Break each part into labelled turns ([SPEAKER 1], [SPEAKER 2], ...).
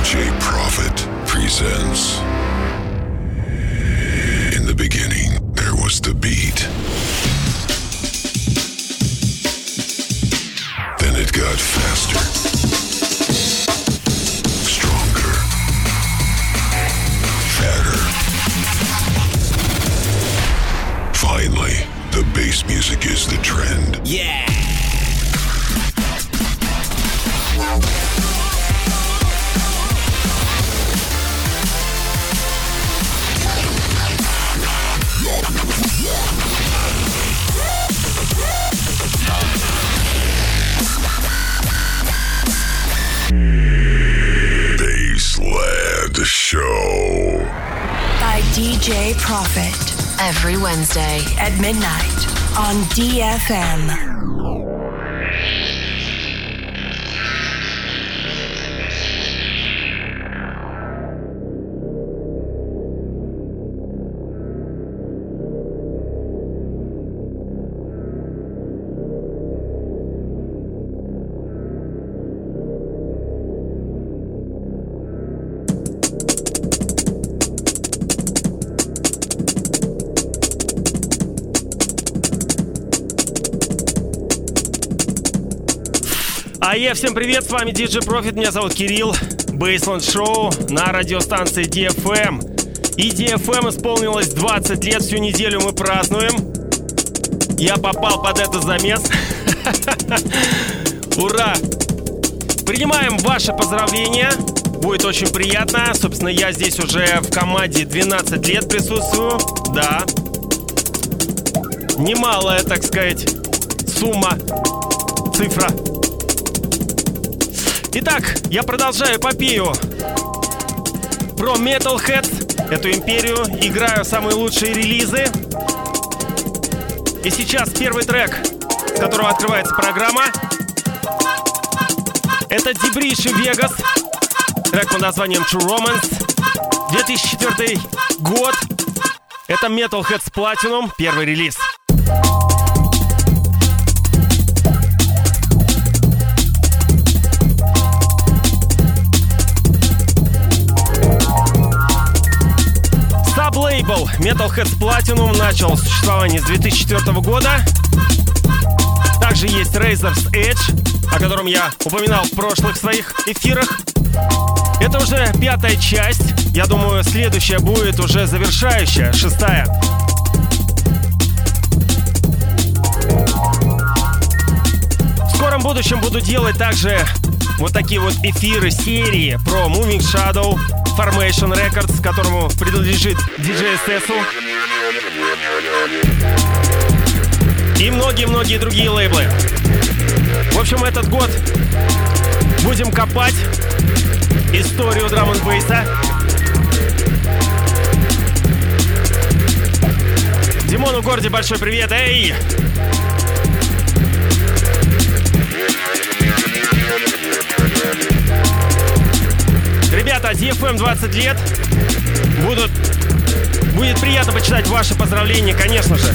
[SPEAKER 1] DJ Prophet presents. In the beginning, there was the beat. Then it got faster, stronger, fatter. Finally, the bass music is the trend.
[SPEAKER 2] Yeah!
[SPEAKER 1] Bassland Show
[SPEAKER 3] by DJ Prophet every Wednesday at midnight on DFM.
[SPEAKER 4] Всем привет, с вами DJ Prophet, меня зовут Кирилл. Bassland Show на радиостанции DFM. И DFM исполнилось 20 лет, всю неделю мы празднуем. Я попал под этот замес. Ура! Принимаем ваши поздравления, будет очень приятно. Собственно, я здесь уже в команде 12 лет присутствую. Да. Немалая, так сказать, сумма, цифра. Итак, я продолжаю эпопею про Metalhead, эту империю, играю самые лучшие релизы. И сейчас первый трек, с которого открывается программа. Это Дебриш и Вегас, трек под названием True Romance, 2004 год. Это Metalhead с Platinum, первый релиз. Лейбл Metalhead Platinum начал существование с 2004 года. Также есть Razor's Edge, о котором я упоминал в прошлых своих эфирах. Это уже 5-я часть. Я думаю, следующая будет уже завершающая, 6-я. В скором будущем буду делать также вот такие вот эфиры, серии про Moving Shadow, Formation Records, которому принадлежит DJ SS'у. И многие-многие другие лейблы. В общем, этот год будем копать историю драм-н-бейса. Димону Горди большой привет, эй! Ребята, DFM 20 лет. Будет приятно почитать ваши поздравления, конечно же.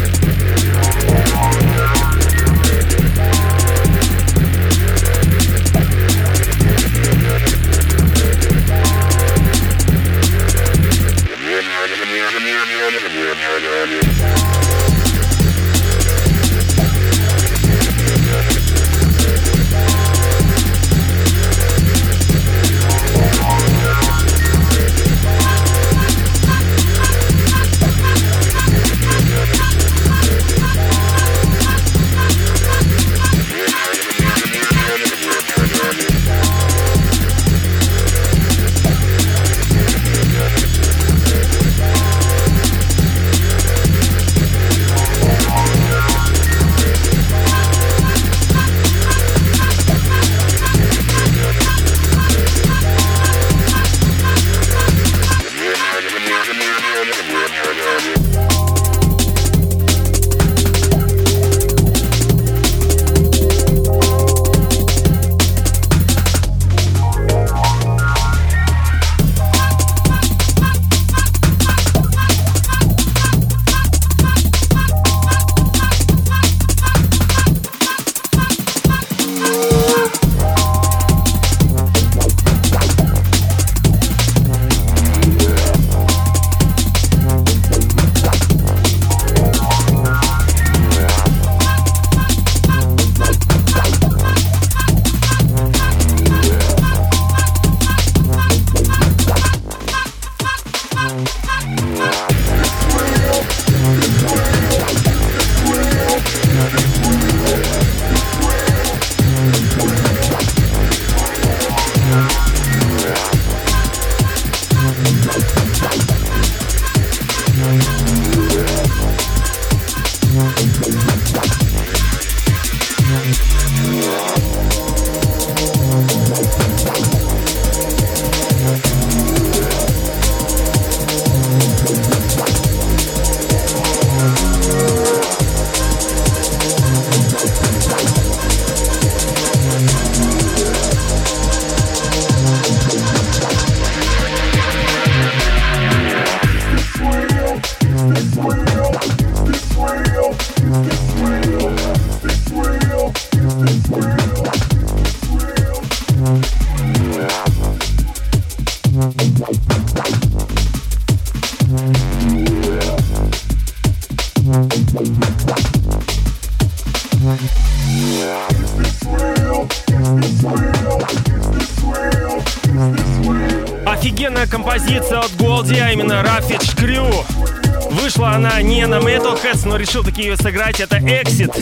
[SPEAKER 4] Офигенная композиция от Голди, а именно Ravage Crew. Вышла она не на Metalheads, но решил таки ее сыграть. Это Exit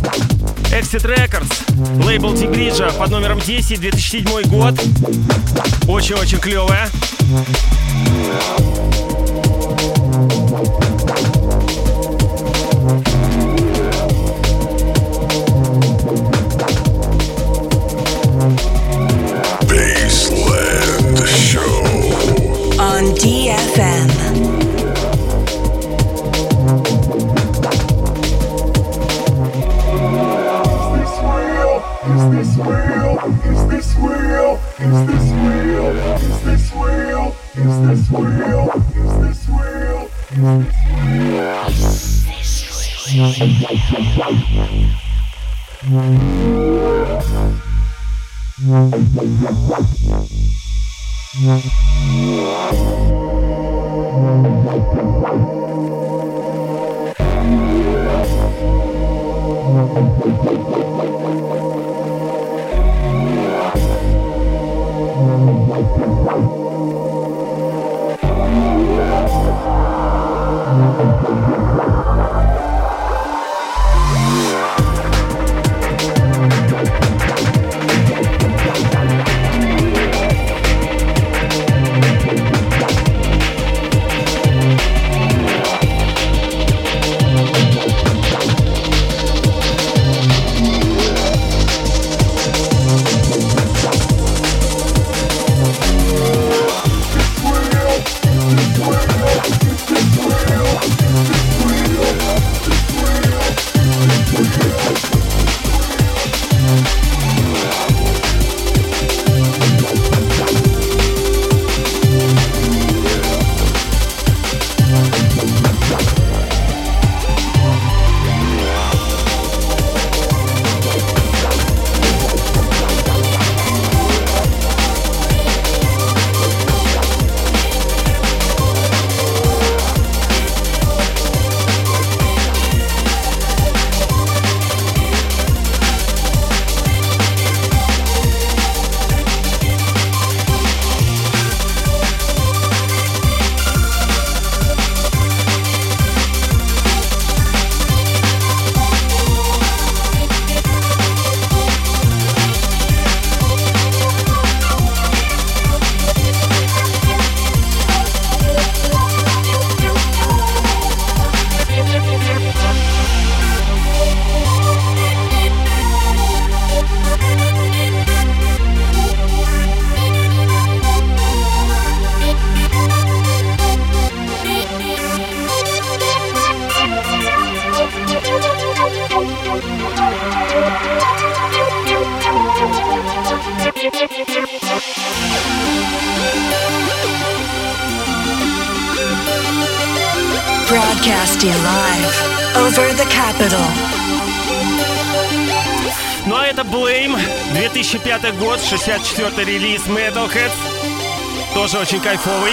[SPEAKER 4] Records, лейбл Тигриджа под номером 10, 2007 год. Очень-очень клевая.
[SPEAKER 1] Baseland Show
[SPEAKER 3] on DFM. Broadcasting live over the capital.
[SPEAKER 4] Ну а это Blame, 2005 год, 64-й релиз Metalheads. Тоже очень кайфовый.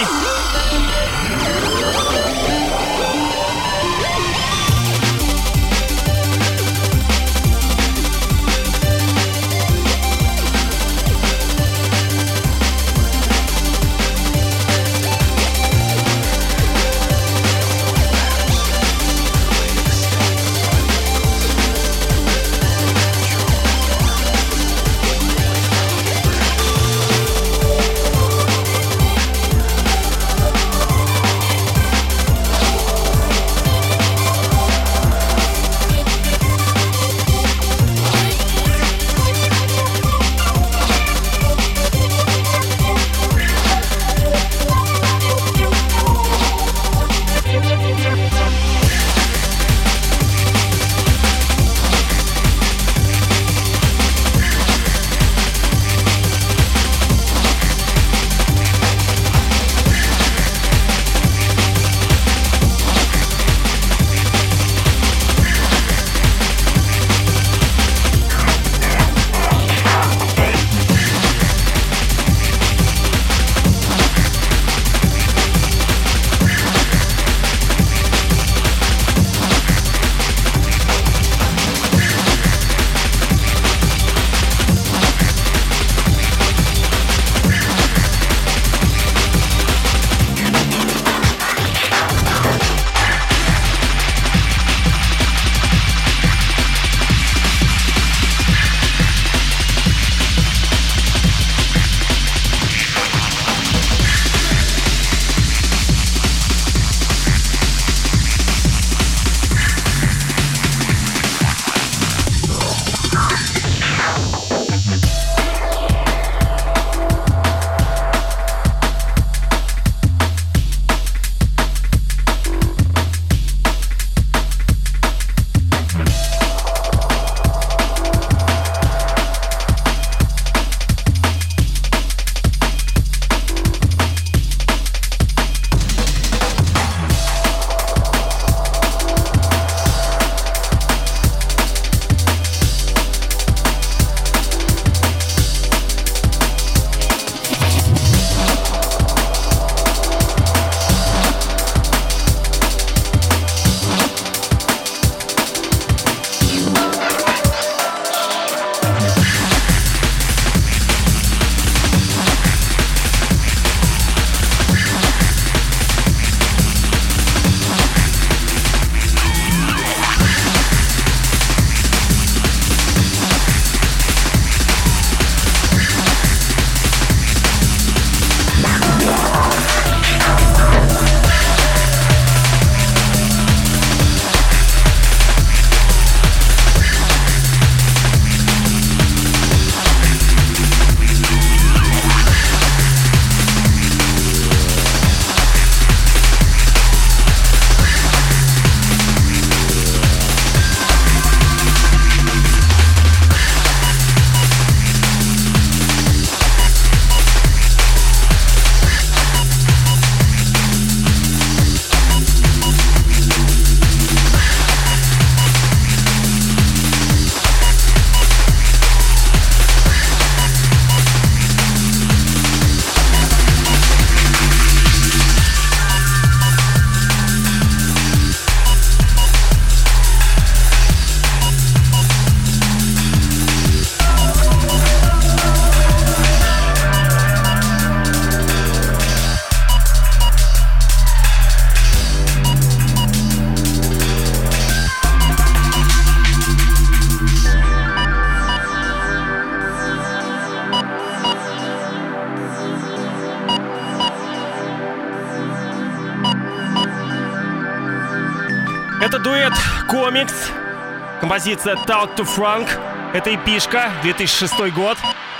[SPEAKER 4] Это дуэт «Комикс». Композиция «Talk to Frank». Это эпишка, 2006 год.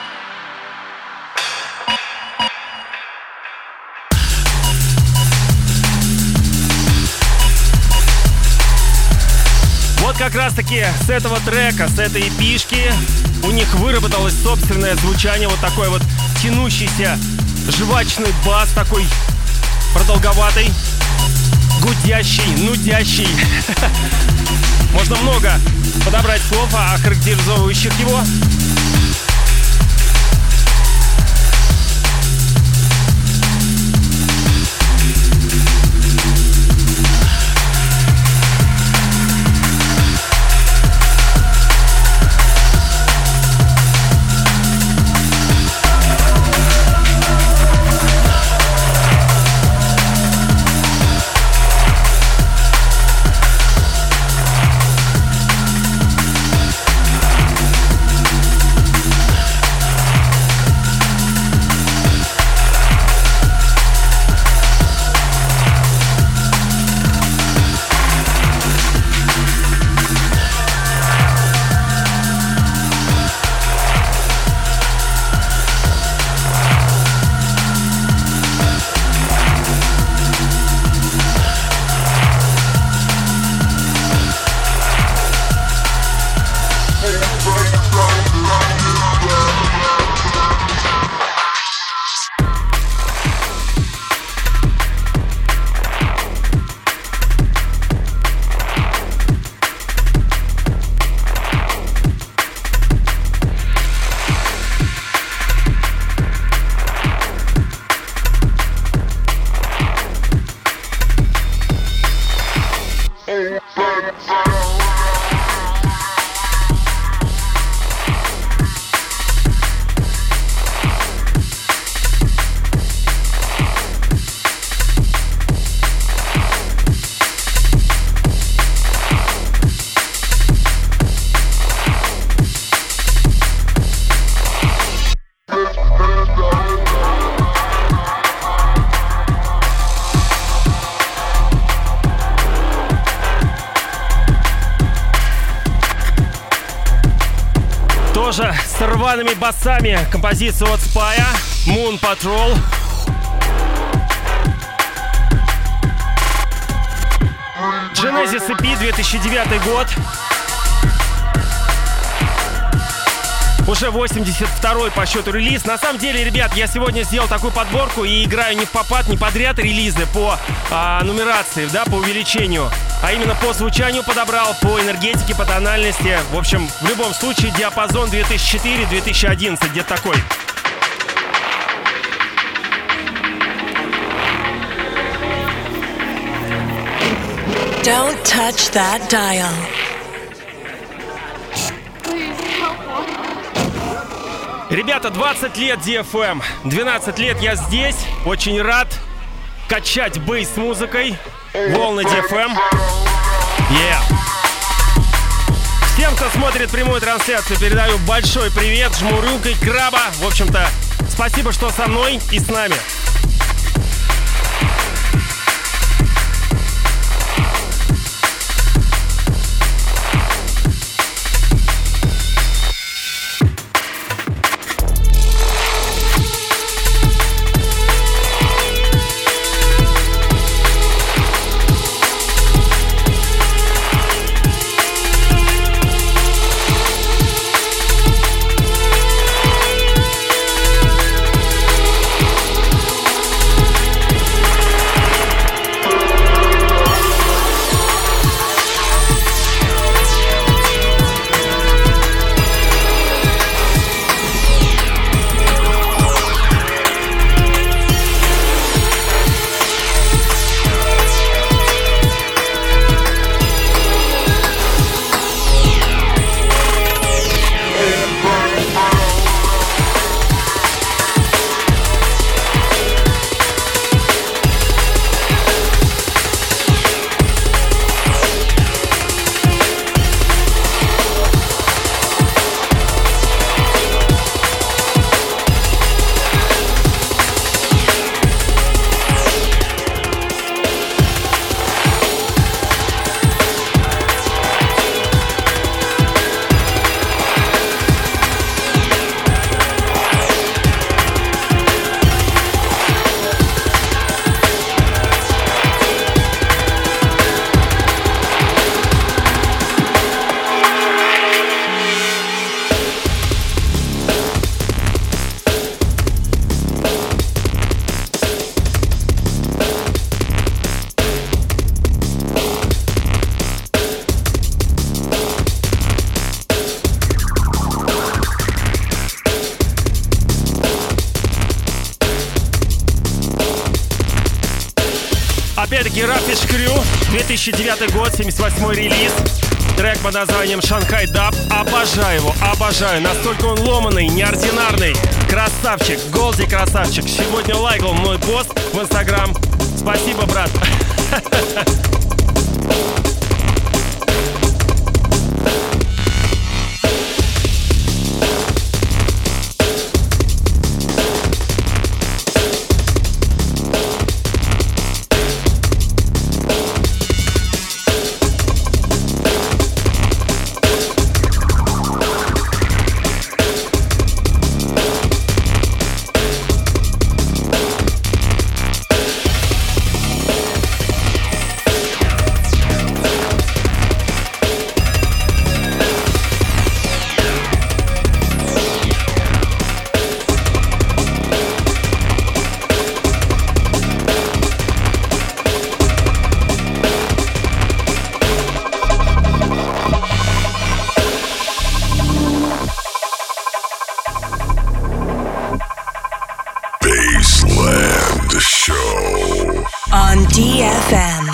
[SPEAKER 4] Вот как раз-таки с этого трека, с этой эпишки у них выработалось собственное звучание. Вот такой вот тянущийся жвачный бас, такой продолговатый, гудящий, нудящий. Можно много подобрать слов, охарактеризовывающих его. С рваными басами композицию от Spaya, Moon Patrol. Genesis EP, 2009 год. Уже 82-й по счету релиз. На самом деле, ребят, я сегодня сделал такую подборку и играю не в попад, не подряд релизы по нумерации, да, по увеличению, а именно по звучанию подобрал, по энергетике, по тональности. В общем, в любом случае, диапазон 2004-2011, где-то такой.
[SPEAKER 3] Don't touch that dial.
[SPEAKER 4] Rебята, 20 лет DFM, 12 лет я здесь, очень рад качать бейс с музыкой, волны DFM. Всем, кто смотрит прямую трансляцию, передаю большой привет, жму рукой краба. В общем-то, спасибо, что со мной и с нами. Опять-таки Rubbish Crew, 2009 год, 78-й релиз. Трек под названием «Шанхай Даб». Обожаю его, обожаю. Настолько он ломаный, неординарный. Красавчик, Голди красавчик. Сегодня лайкал мой пост в Инстаграм. Спасибо, брат.
[SPEAKER 3] DFM.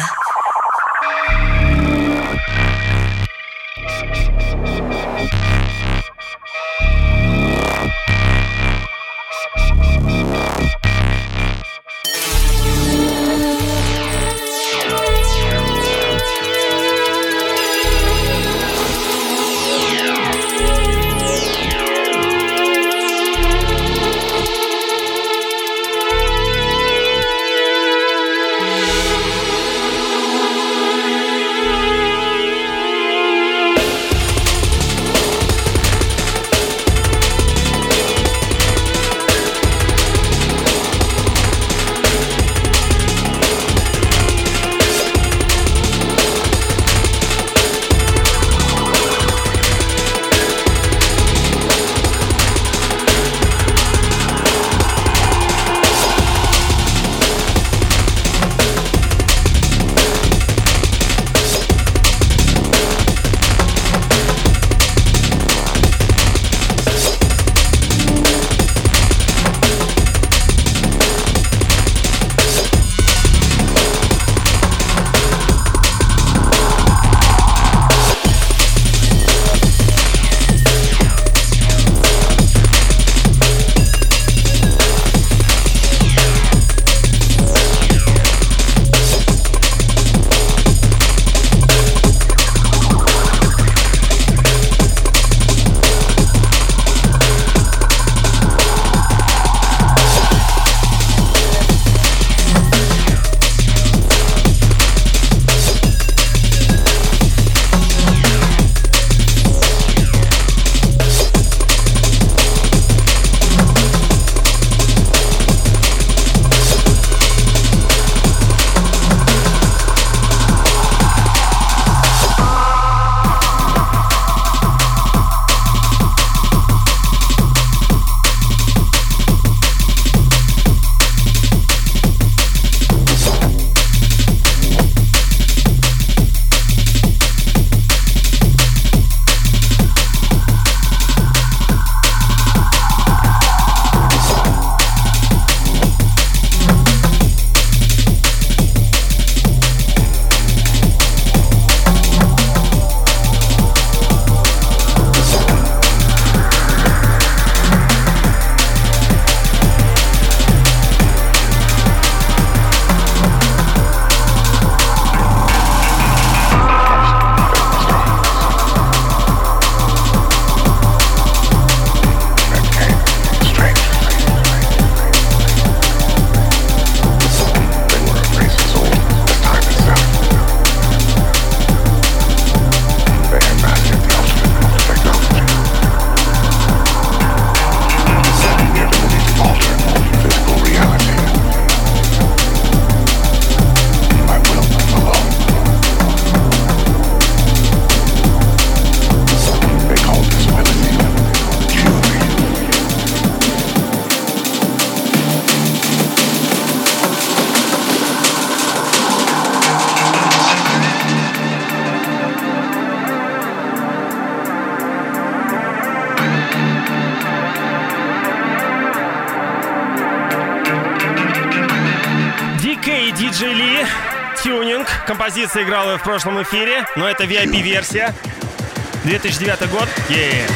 [SPEAKER 4] Tuning. Композиция играла в прошлом эфире, но это VIP-версия. 2009 год. Yeah.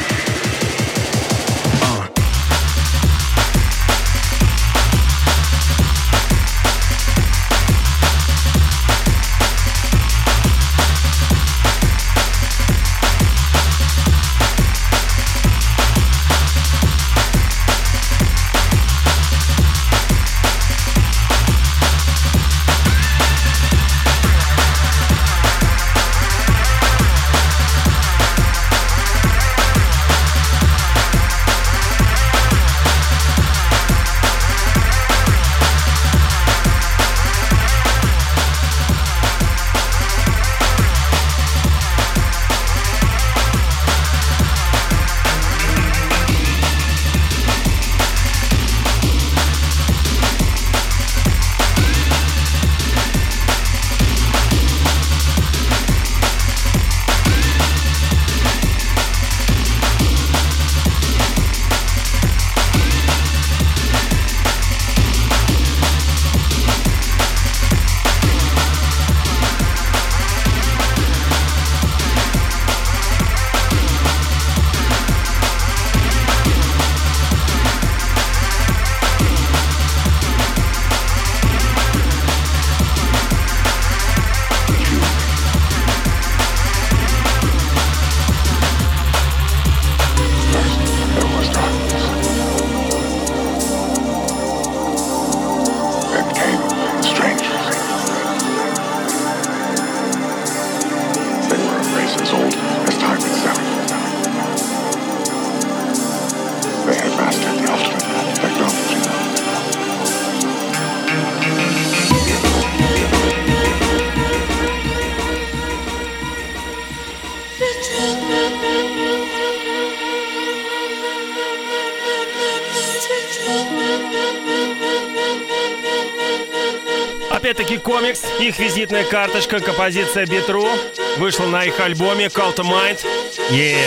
[SPEAKER 4] Опять-таки комикс, их визитная карточка, композиция Beat.ru вышла на их альбоме Call to Mind. Yeah.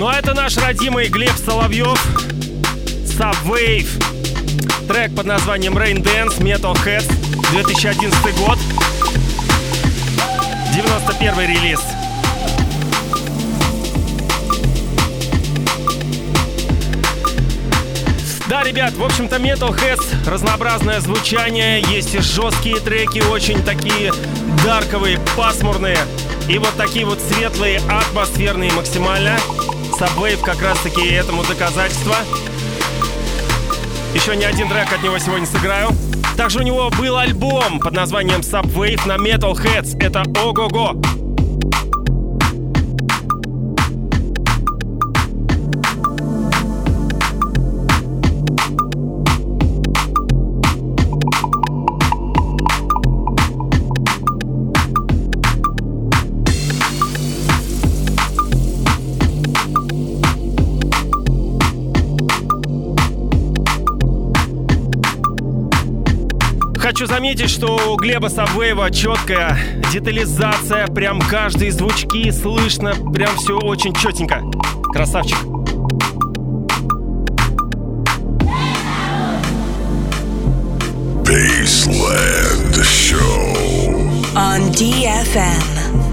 [SPEAKER 4] Ну а это наш родимый Глеб Соловьев, Subwave. Трек под названием Rain Dance, Metal Heads, 2011 год. 91-й релиз. Да, ребят, в общем-то, Metal Heads, разнообразное звучание, есть и жесткие треки, очень такие дарковые, пасмурные, и вот такие вот светлые, атмосферные максимально. Subwave как раз-таки этому доказательство. Еще не один трек от него сегодня сыграю. Также у него был альбом под названием Subwave на Metal Heads. Это ого-го! Хочу заметить, что у Глеба Subwave четкая детализация, прям каждые звучки слышно, прям все очень четенько. Красавчик.
[SPEAKER 1] Baseland Show
[SPEAKER 3] on DFM.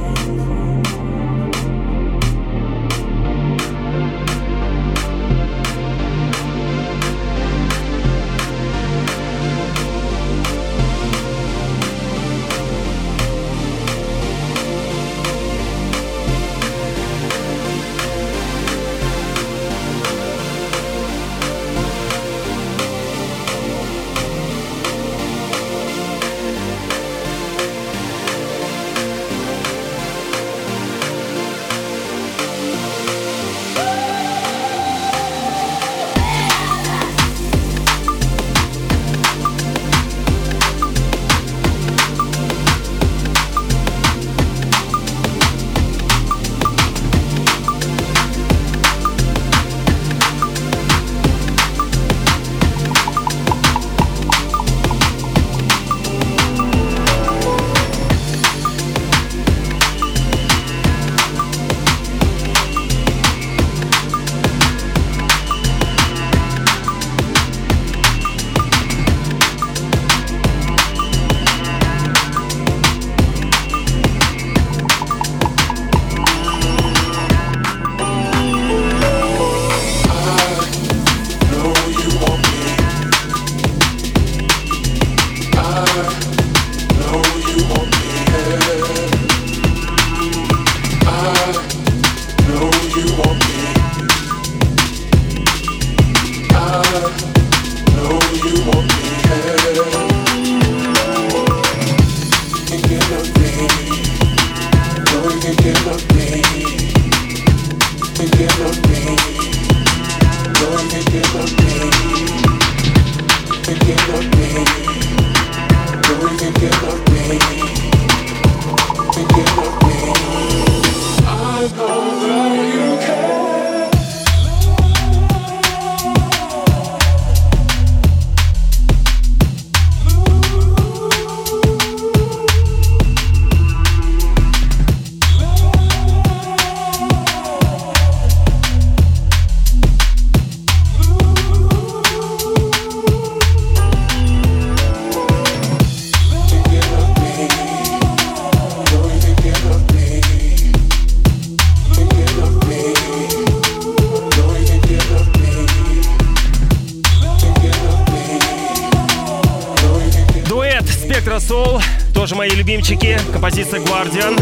[SPEAKER 4] Тоже мои любимчики, композиция Guardian.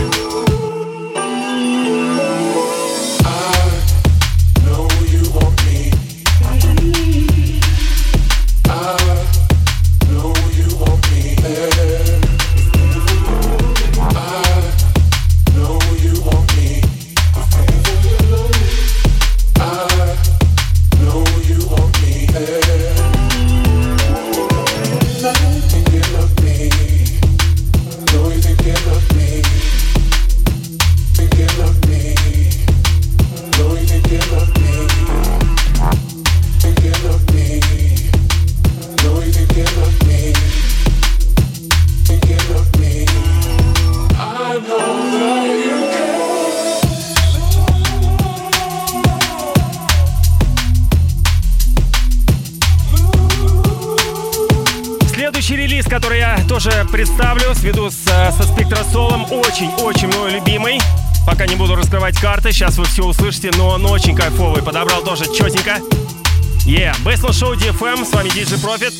[SPEAKER 4] который я тоже представлю, сведу со Спектросолом, очень-очень мой любимый. Пока не буду раскрывать карты, сейчас вы все услышите, но он очень кайфовый, подобрал тоже четенько. Baseline Show DFM, с вами DJ Profit.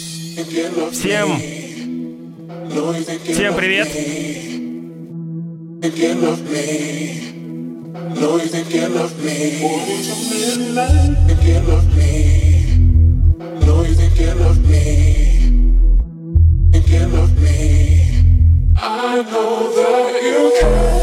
[SPEAKER 4] Всем привет.
[SPEAKER 2] I know that you can.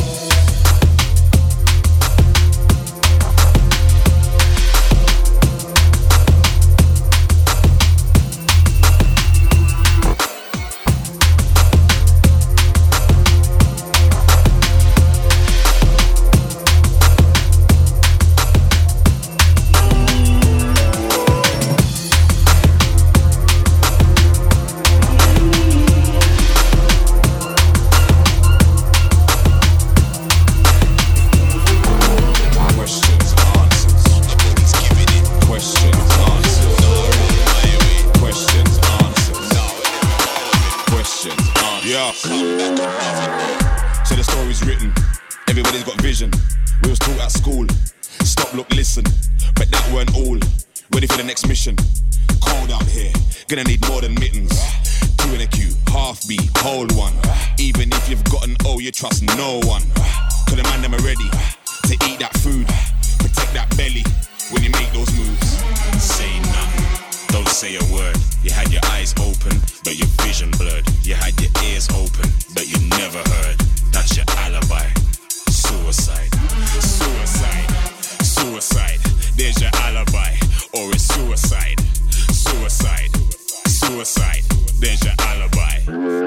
[SPEAKER 5] So the story's written, everybody's got vision. We was taught at school, stop, look, listen. But that weren't all, ready for the next mission. Cold out here, gonna need more than mittens. Two in a queue, half beat, hold one. Even if you've got an O, you trust no one. Cause the man them are ready to eat that food. Protect that belly when you make those moves. Say nothing, don't say a word. You had your eyes open, but your vision blurred. You had your ears open, but you never heard. That's your alibi. Suicide, suicide, suicide. There's your alibi, or it's suicide. Suicide, suicide. There's your alibi.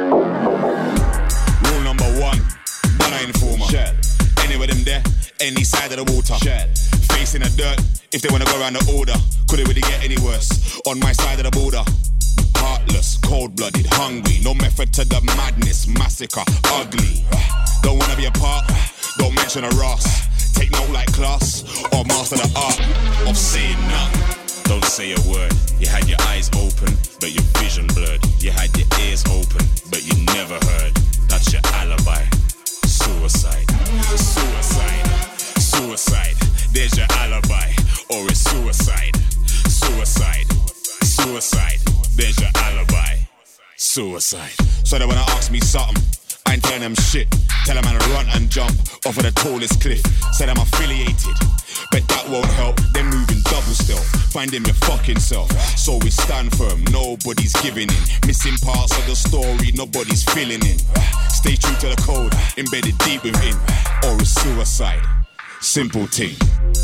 [SPEAKER 5] Rule number one, banana informer. Shell. Any of them there, any side of the water. Shell. Facing the dirt, if they wanna go around the order. Could it really get any worse? On my side of the border. Heartless, cold-blooded, hungry. No method to the madness, massacre, ugly. Don't wanna be a part, don't mention a Ross. Take note like class, or master the art of saying nothing. Don't say a word. You had your eyes open, but your vision blurred. You had your ears open, but you never heard. That's your alibi. Suicide, suicide, suicide. There's your alibi, or it's suicide. Suicide, suicide. There's your alibi. Suicide. So they wanna ask me something, I ain't telling them shit. Tell them I run and jump off of the tallest cliff. Said I'm affiliated, but that won't help. They're moving double stealth, finding your fucking self. So we stand firm, nobody's giving in. Missing parts of the story, nobody's filling in. Stay true to the code, embedded deep within. Or it's suicide. Simple thing.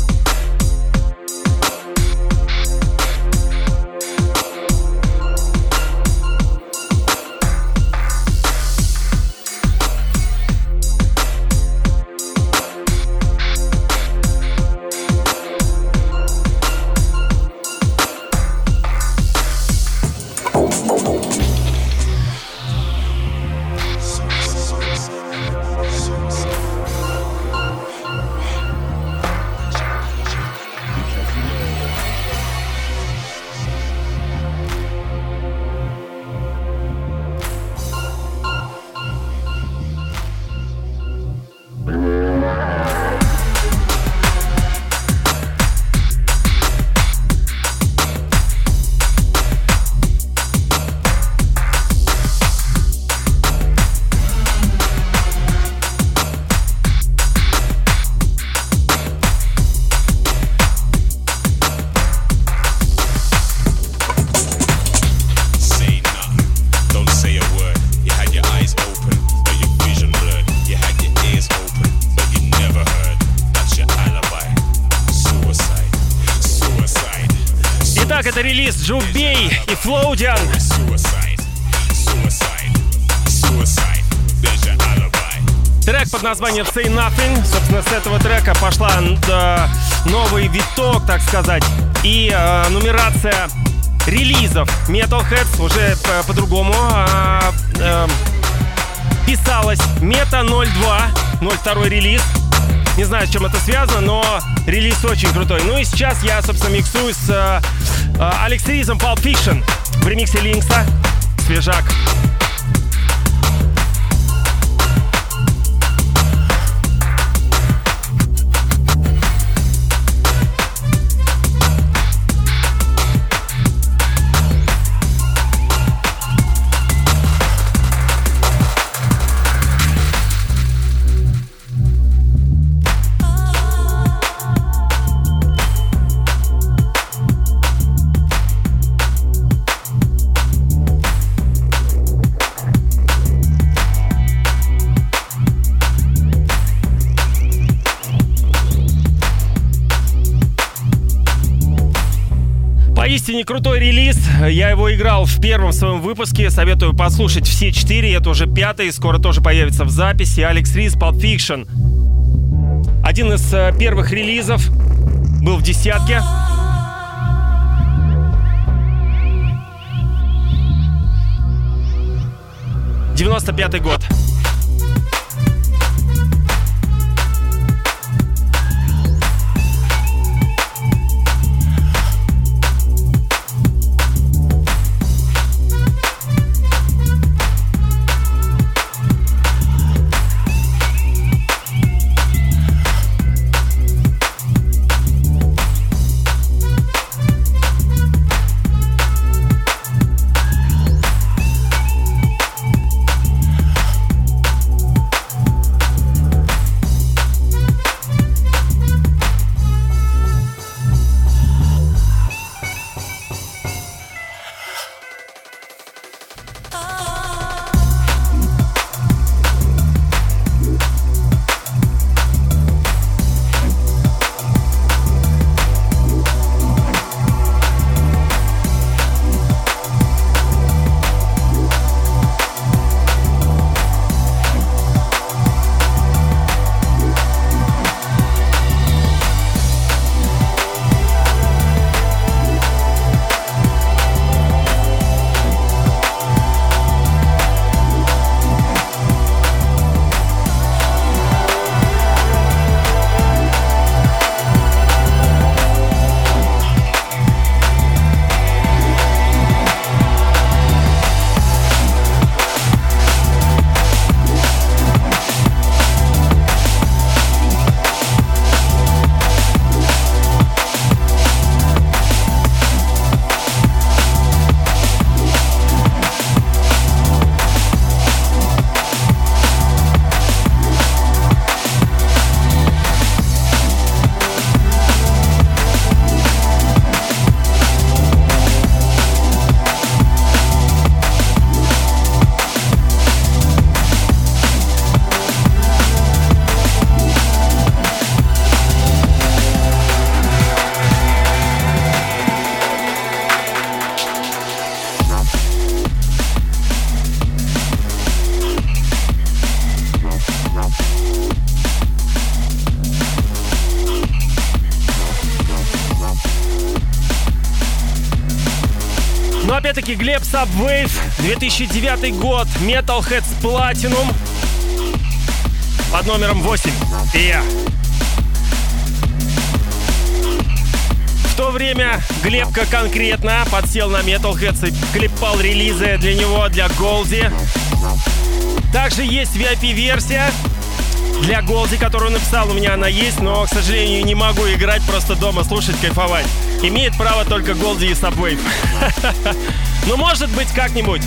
[SPEAKER 4] Это релиз Jubei и Floodian. Трек под названием Say Nothing. Собственно, с этого трека пошла новый виток, так сказать, и нумерация релизов Metalheads уже по-другому писалась. Meta 02 релиз. Не знаю, с чем это связано, но релиз очень крутой. Ну и сейчас я, собственно, миксую с Alex Rees'ом Pulp Fiction в ремиксе Линкса. Свежак. Поистине крутой релиз. Я его играл в первом своем выпуске. Советую послушать все 4. Это уже 5-й. Скоро тоже появится в записи. Алекс Рис, Pulp Fiction. Один из первых релизов. Был в десятке. «95-й год. Но опять-таки Глеб Subwave, 2009 год, Metalheadz Platinum под номером 8. В то время Глебка конкретно подсел на Metalheadz и клепал релизы для него, для Голди. Также есть VIP-версия для Голди, которую написал, у меня она есть, но, к сожалению, не могу играть, просто дома слушать, кайфовать. Имеет право только Голди и Subwave. Ну, может быть, как-нибудь.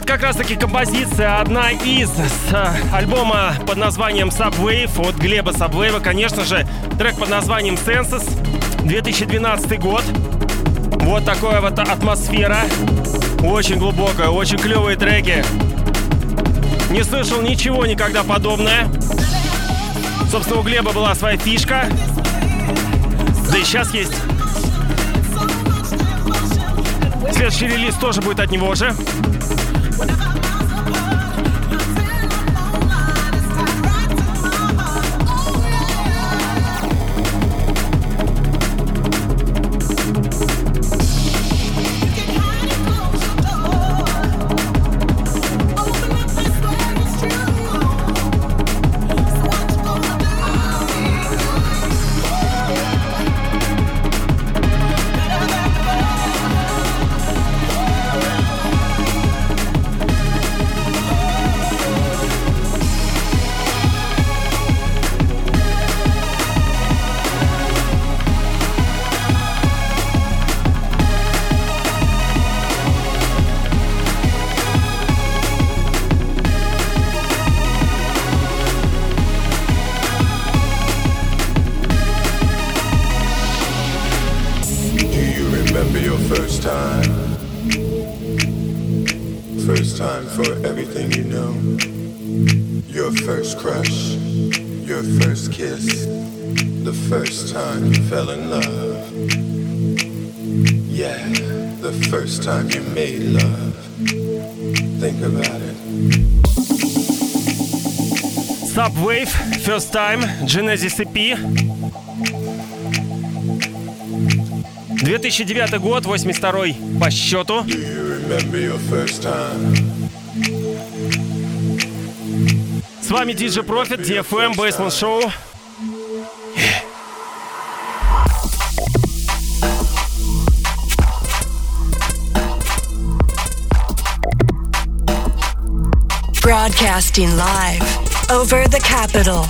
[SPEAKER 4] Это как раз таки композиция, одна из альбома под названием Subwave от Глеба Subwave. Конечно же, трек под названием Senses, 2012 год. Вот такая вот атмосфера. Очень глубокая, очень клевые треки. Не слышал ничего никогда подобное. Собственно, у Глеба была своя фишка. Да и сейчас есть. Следующий релиз тоже будет от него же.
[SPEAKER 1] First time for everything you know. Your first crush, your first kiss, the first time you fell in love. Yeah, the first time you made love. Think about it.
[SPEAKER 4] Subwave, First Time, Genesis EP. 2009 год, 82-й по счету. С вами DJ Profit, DFM, Basement Show.
[SPEAKER 3] Broadcasting live over the capital.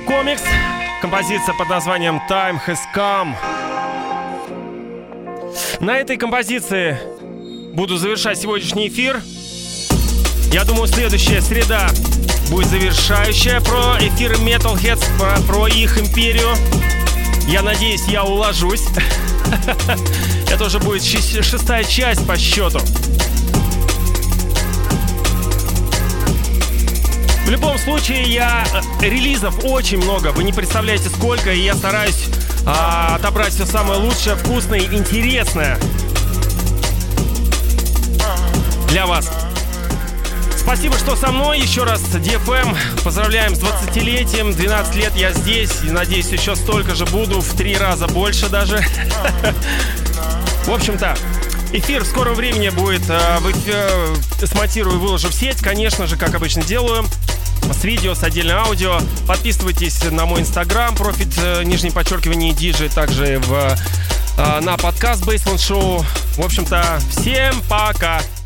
[SPEAKER 4] Комикс. Композиция под названием Time Has Come. На этой композиции буду завершать сегодняшний эфир. Я думаю, следующая среда будет завершающая про эфиры Metalheads, про их империю. Я надеюсь, я уложусь. Это уже будет 6-я часть по счету. В любом случае, релизов очень много. Вы не представляете, сколько. И я стараюсь отобрать все самое лучшее, вкусное и интересное для вас. Спасибо, что со мной. Еще раз, DFM, поздравляем с 20-летием. 12 лет я здесь. И, надеюсь, еще столько же буду. В 3 раза больше даже. В общем-то, эфир в скором времени будет. Смонтирую и выложу в сеть. Конечно же, как обычно делаю. С видео, с отдельным аудио. Подписывайтесь на мой инстаграм, профит, _DJ, также на подкаст Baseline Show. В общем-то, всем пока!